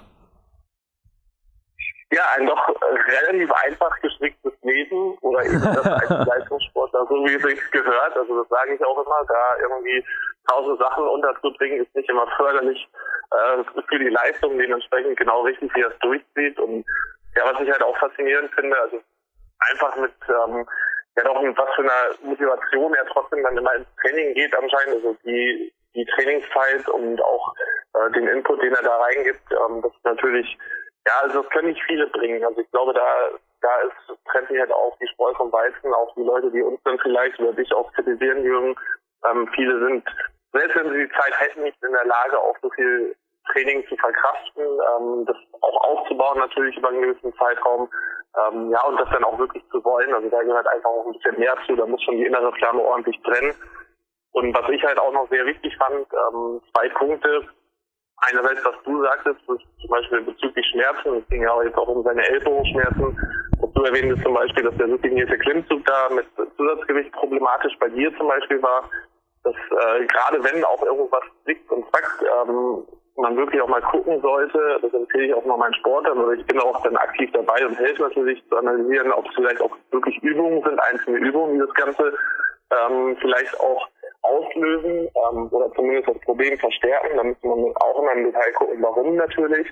Ja, ein doch relativ einfach gestricktes Leben oder eben das als Leistungssportler, so wie es sich gehört. Also das sage ich auch immer, da irgendwie tausend Sachen unterzubringen, ist nicht immer förderlich äh, für die Leistung, dementsprechend genau richtig, wie er es durchzieht. Und ja, was ich halt auch faszinierend finde, also einfach mit ähm, ja doch was für eine Motivation er trotzdem dann immer ins Training geht anscheinend, also die die Trainingszeit und auch äh, den Input, den er da reingibt, ähm, das ist natürlich, ja, also das können nicht viele bringen. Also ich glaube, da da ist trennt sich halt auch die Spreu vom Weizen, auch die Leute, die uns dann vielleicht oder dich auch kritisieren, Jürgen, ähm, viele sind, selbst wenn sie die Zeit hätten, nicht in der Lage, auch so viel Training zu verkraften, ähm, das auch aufzubauen natürlich über einen gewissen Zeitraum, ähm, ja, und das dann auch wirklich zu wollen. Also da gehört einfach auch ein bisschen mehr zu, da muss schon die innere Flamme ordentlich brennen. Und was ich halt auch noch sehr wichtig fand, ähm, zwei Punkte. Einerseits, was du sagtest, ist zum Beispiel bezüglich Schmerzen, es ging ja auch jetzt auch um seine Ellbogenschmerzen. Und du erwähntest zum Beispiel, dass der subliminierte Klimmzug da mit Zusatzgewicht problematisch bei dir zum Beispiel war, dass äh, gerade wenn auch irgendwas zwickt und zackt, ähm, man wirklich auch mal gucken sollte, das empfehle ich auch mal meinen Sportlern, oder ich bin auch dann aktiv dabei und helfe natürlich zu analysieren, ob es vielleicht auch wirklich Übungen sind, einzelne Übungen, die das Ganze ähm, vielleicht auch auslösen ähm, oder zumindest das Problem verstärken. Da müsste man auch immer im Detail gucken, warum natürlich.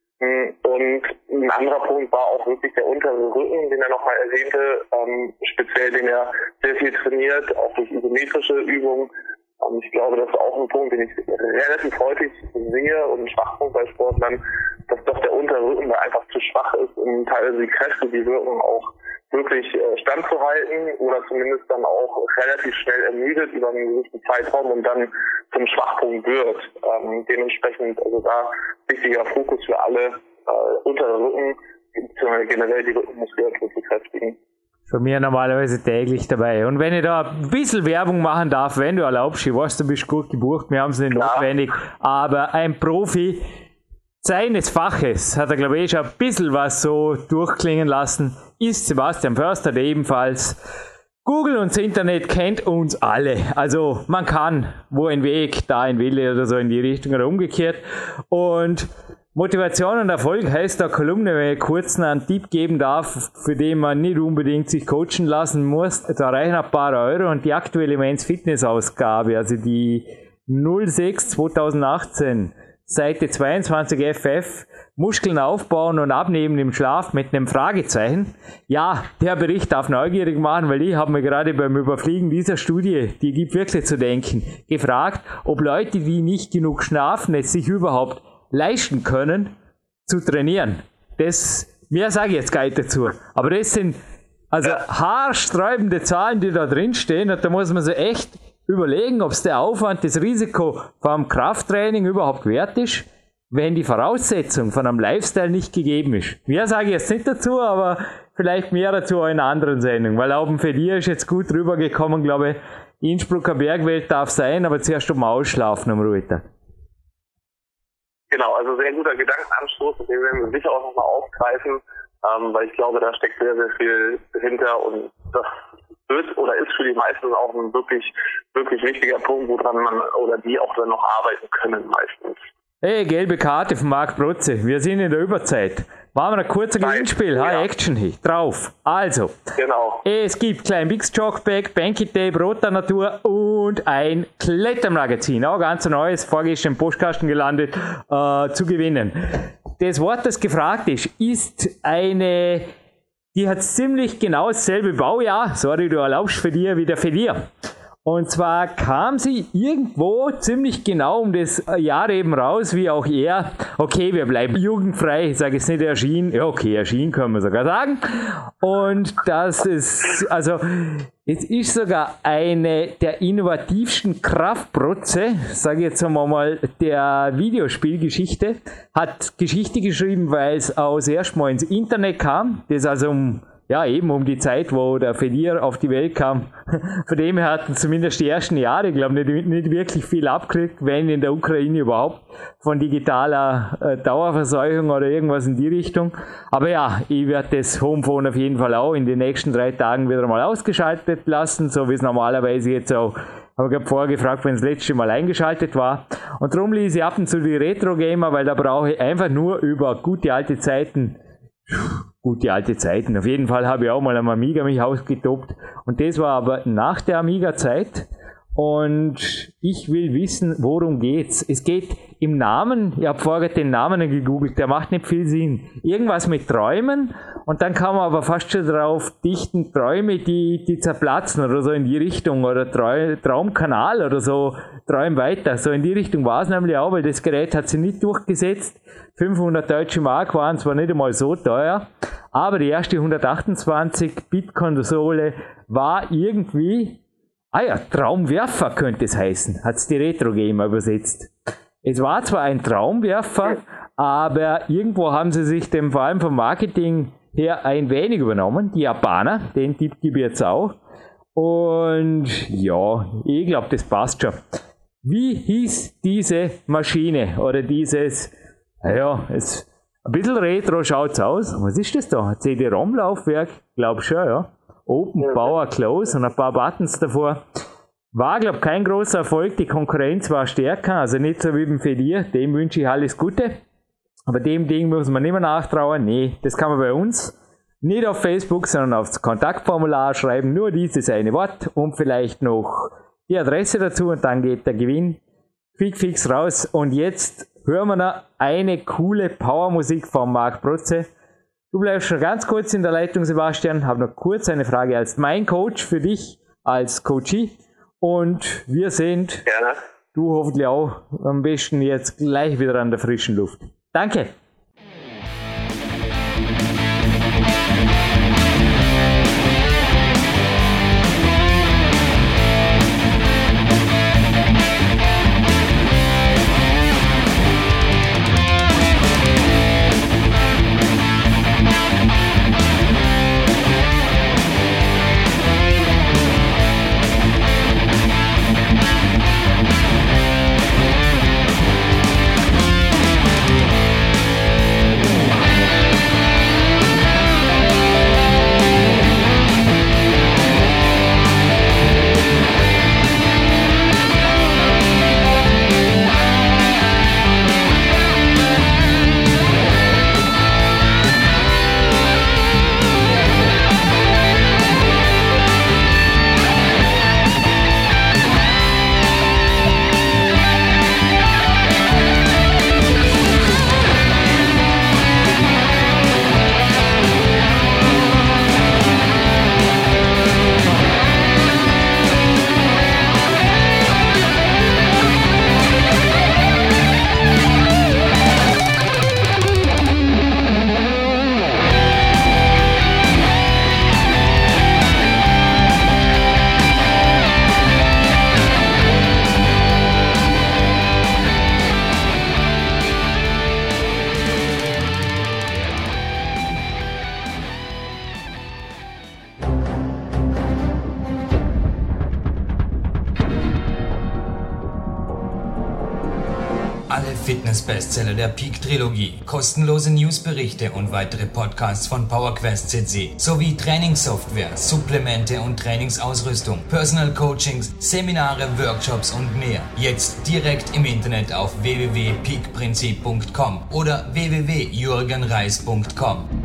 Und ein anderer Punkt war auch wirklich der untere Rücken, den er nochmal erwähnte, ähm, speziell den er sehr viel trainiert, auch durch isometrische Übungen. Und ich glaube, das ist auch ein Punkt, den ich relativ häufig sehe und ein Schwachpunkt bei Sportlern, dass doch der untere Rücken da einfach zu schwach ist, um teilweise die Kräfte, die wirken, auch wirklich äh, standzuhalten oder zumindest dann auch relativ schnell ermüdet über einen gewissen Zeitraum und dann zum Schwachpunkt wird. Ähm, dementsprechend, also da wichtiger Fokus für alle, äh, untere Rücken, beziehungsweise generell die Rückenmuskulatur zu kräftigen. Von mir normalerweise täglich dabei. Und wenn ich da ein bisschen Werbung machen darf, wenn du erlaubst, ich weiß, du bist gut gebucht, wir haben es nicht Klar. notwendig, aber ein Profi seines Faches, hat er glaube ich schon ein bisschen was so durchklingen lassen, ist Sebastian Förster, der ebenfalls Google und das Internet kennt uns alle. Also man kann, wo ein Weg, da ein Wille oder so in die Richtung oder umgekehrt. Und Motivation und Erfolg heißt der Kolumne, wenn ich kurz einen Tipp geben darf, für den man nicht unbedingt sich coachen lassen muss. Da reichen ein paar Euro und die aktuelle Men's Fitness Ausgabe, also die null sechs zweitausendachtzehn, Seite zweiundzwanzig F F, Muskeln aufbauen und abnehmen im Schlaf mit einem Fragezeichen. Ja, der Bericht darf neugierig machen, weil ich habe mir gerade beim Überfliegen dieser Studie, die gibt wirklich zu denken, gefragt, ob Leute, die nicht genug schlafen, es sich überhaupt leisten können, zu trainieren. Das, mehr sage ich jetzt gar nicht dazu. Aber das sind also haarsträubende Zahlen, die da drin stehen, und da muss man sich echt überlegen, ob es der Aufwand, das Risiko vom Krafttraining überhaupt wert ist, wenn die Voraussetzung von einem Lifestyle nicht gegeben ist. Mehr sage ich jetzt nicht dazu, aber vielleicht mehr dazu in einer anderen Sendung, weil auch für dich ist jetzt gut rübergekommen, glaube ich, Innsbrucker Bergwelt darf sein, aber zuerst um Ausschlafen am Ruhetag. Genau, also sehr guter Gedankenanstoß, den werden wir sicher auch nochmal aufgreifen, ähm, weil ich glaube, da steckt sehr, sehr viel hinter und das wird oder ist für die meisten auch ein wirklich, wirklich wichtiger Punkt, woran man oder die auch dann noch arbeiten können meistens. Hey, gelbe Karte von Marc Protze, wir sind in der Überzeit. Machen wir ein kurzer Gewinnspiel, ja. High Action hier, drauf. Also, genau. Es gibt Klein Bix Jogback, Banky Tape, Roter Natur und ein Klettermagazin, auch ganz neues, vorgestern im Postkasten gelandet, äh, zu gewinnen. Das Wort, das gefragt ist, ist eine, die hat ziemlich genau dasselbe Baujahr, sorry, du erlaubst für dir, wie der für dir. Und zwar kam sie irgendwo ziemlich genau um das Jahr eben raus, wie auch er. Okay, wir bleiben jugendfrei, ich sage jetzt nicht erschienen. Ja, okay, erschienen können wir sogar sagen. Und das ist, also, es ist sogar eine der innovativsten Kraftprotze, sage ich jetzt einmal, der Videospielgeschichte. Hat Geschichte geschrieben, weil es aus erstmal ins Internet kam. Das also um Ja, eben um die Zeit, wo der Verlier auf die Welt kam. Von dem her hatten zumindest die ersten Jahre, ich glaube, nicht, nicht wirklich viel abgekriegt, wenn in der Ukraine überhaupt, von digitaler äh, Dauerverseuchung oder irgendwas in die Richtung. Aber ja, ich werde das Homephone auf jeden Fall auch in den nächsten drei Tagen wieder mal ausgeschaltet lassen, so wie es normalerweise jetzt auch, habe ich gerade vorher gefragt, wenn es das letzte Mal eingeschaltet war. Und darum lese ich ab und zu die Retro-Gamer, weil da brauche ich einfach nur über gute alte Zeiten Gute alte Zeiten. Auf jeden Fall habe ich auch mal am Amiga mich ausgetobt. Und das war aber nach der Amiga-Zeit. Und ich will wissen, worum geht's. Es geht im Namen, ich habe vorher den Namen gegoogelt, der macht nicht viel Sinn. Irgendwas mit Träumen. Und dann kann man aber fast schon drauf dichten, Träume, die, die zerplatzen oder so in die Richtung. Oder Trau- Traumkanal oder so, Träum weiter. So in die Richtung war es nämlich auch, weil das Gerät hat sich nicht durchgesetzt. fünfhundert deutsche Mark waren zwar nicht einmal so teuer, aber die erste hundertachtundzwanzig Bit Konsole war irgendwie, ah ja, Traumwerfer könnte es heißen, hat es die Retro Gamer übersetzt. Es war zwar ein Traumwerfer, aber irgendwo haben sie sich dem vor allem vom Marketing her ein wenig übernommen, die Japaner, den Tipp gebe ich jetzt auch. Und ja, ich glaube, das passt schon. Wie hieß diese Maschine oder dieses, ja, es, ein bisschen retro schaut's aus. Was ist das da? C D-ROM-Laufwerk? Glaub schon, ja. Open, Power, Close und ein paar Buttons davor. War, glaub kein großer Erfolg. Die Konkurrenz war stärker, also nicht so wie beim Fedier. Dem wünsche ich alles Gute. Aber dem Ding muss man nicht mehr nachtrauen. Nee, das kann man bei uns nicht auf Facebook, sondern aufs Kontaktformular schreiben. Nur dieses eine Wort und vielleicht noch die Adresse dazu und dann geht der Gewinn quick fix raus. Und jetzt hören wir noch eine coole Powermusik von Marc Protze. Du bleibst schon ganz kurz in der Leitung, Sebastian. Habe noch kurz eine Frage als mein Coach für dich, als Coachie. Und wir sind, Gerne. Du hoffentlich auch, am besten jetzt gleich wieder an der frischen Luft. Danke. alle Fitness-Bestseller der Peak-Trilogie, kostenlose Newsberichte und weitere Podcasts von PowerQuest C C, sowie Trainingssoftware, Supplemente und Trainingsausrüstung, Personal Coachings, Seminare, Workshops und mehr. Jetzt direkt im Internet auf w w w punkt peak prinzip punkt com oder w w w punkt jürgen reis punkt com.